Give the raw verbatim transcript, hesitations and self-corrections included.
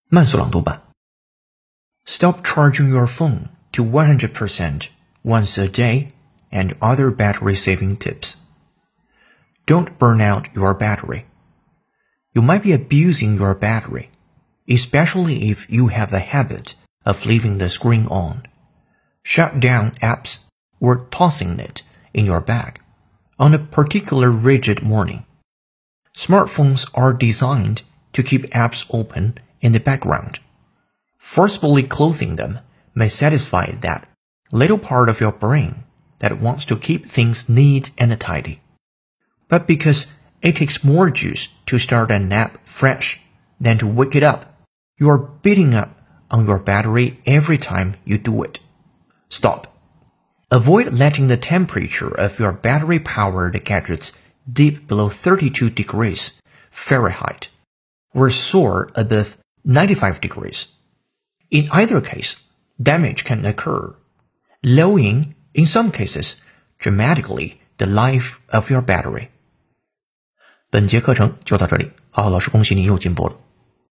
慢速朗读版 Stop charging your phone to one hundred percent once a day and other battery-saving tips. Don't burn out your battery. You might be abusing your battery, especially if you have the habit of leaving the screen on. Shut down apps or tossing it in your bag on a particular rigid morning. Smartphones are designed to keep apps open in the background. Forcefully closing them may satisfy that little part of your brain that wants to keep things neat and tidy. But because it takes more juice to start a nap fresh than to wake it up, you are beating up on your battery every time you do it. Stop. Avoid letting the temperature of your battery-powered gadgets dip below thirty-two degrees Fahrenheit or soar above ninety-five degrees. In either case, damage can occur, lowering, in some cases, dramatically the life of your battery. 本节课程就到这里，好好老师恭喜你又进步了。